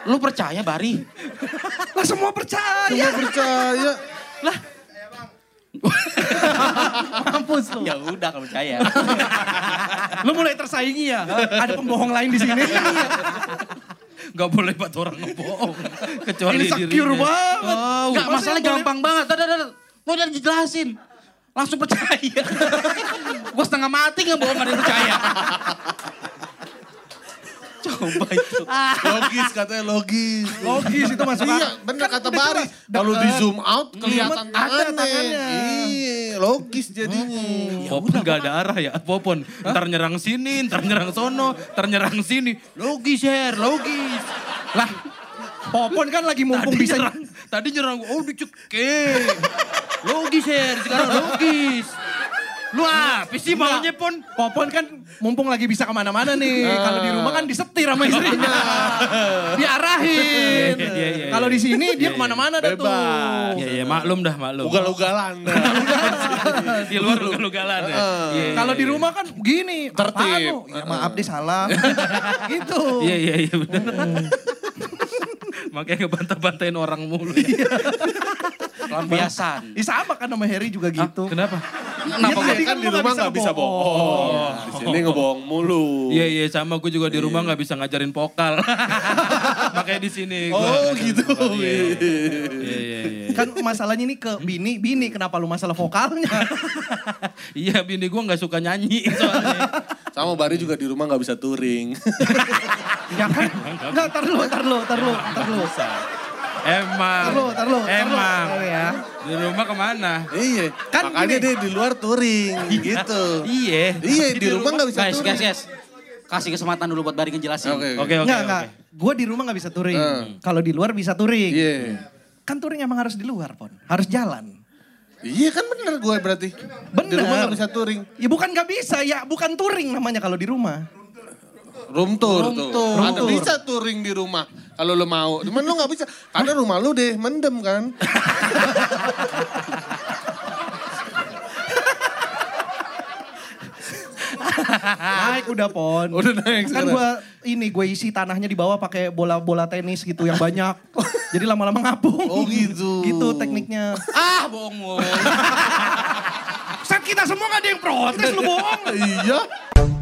Lu percaya, Bari? Lah semua percaya. Semua percaya. Lah. Mampus lu. Ya udah kalau percaya. Lu mulai tersaingi ya. Ada pembohong lain di sini. Gak boleh buat orang ngebohong. Kecuali Insecure dirinya. banget. Oh, Enggak, masalahnya gampang banget. Mau udah dijelasin. Langsung percaya. Gue setengah mati gak bohong, gak ada yang percaya. Coba itu. Logis katanya logis. Logis itu masuk Iya bener kata Bari. Kalau di zoom out kelihatan ada tangannya. tangannya. Iya logis jadinya. Popon gak ada arah ya, Popon. Ntar nyerang sini, ntar nyerang sono, ntar nyerang sini. Logis, Her, logis. Lah, Popon kan lagi mumpung bisa Tadi nyerang, oh dicekek. Logis, Her, sekarang logis. Lu apa sih maunya, Pon? Popon kan mumpung lagi bisa kemana-mana nih. Kalau di rumah kan disetir sama istrinya. Diarahin. Iya. Kalau di sini dia kemana-mana dah tuh. Bebas. Iya, maklum dah, maklum. Ugal-ugalan. Di luar ugal-ugalan ya. Iya, Kalau iya, di iya. rumah kan begini. Tertib. Apaan lu? Ya maaf deh salah. Gitu. Iya bener. Makanya ngebantah-bantahin orang mulu. Lampiasan. Sama kan sama Harry juga gitu. Kenapa? Kenapa jadi kan kan di lu rumah nggak nggak bisa bisa bohong. Di sini ngebohong mulu. Iya sama gue juga di rumah nggak bisa ngajarin vokal. Makanya di sini. Oh gitu. Iya. Kan masalahnya ini ke bini kenapa lu masalah vokalnya? Iya bini gue nggak suka nyanyi soalnya. Sama Bari juga di rumah nggak bisa touring. Ya kan? Enggak, tar lu. Emang. Tar lu. Ya. Di rumah kemana? Iya. Kan makanya gini. dia di luar touring gitu. Iya. Iya di rumah nggak bisa touring. Guys. Kasih kesempatan dulu buat Bari ngejelasin. Oke. Enggak. Gue di rumah gak bisa touring. Kalau di luar bisa touring. Iya. Kan touring emang harus di luar, Pon. Harus jalan. Iya kan bener gue berarti. Bener. Di rumah nggak bisa touring. Ya bukan gak bisa, ya bukan touring namanya kalau di rumah. Room tour tuh. Ada tour. bisa touring di rumah kalau lo mau. Cuman lo nggak bisa karena rumah lo deh mendem kan. Naik udah, Pon. Udah naik Kan sekarang. gue isi tanahnya di bawah pakai bola-bola tenis gitu yang banyak. Jadi lama-lama ngapung. Oh gitu. Gitu tekniknya. Bohong. Set kita semua gak ada yang protes lu bohong. Iya.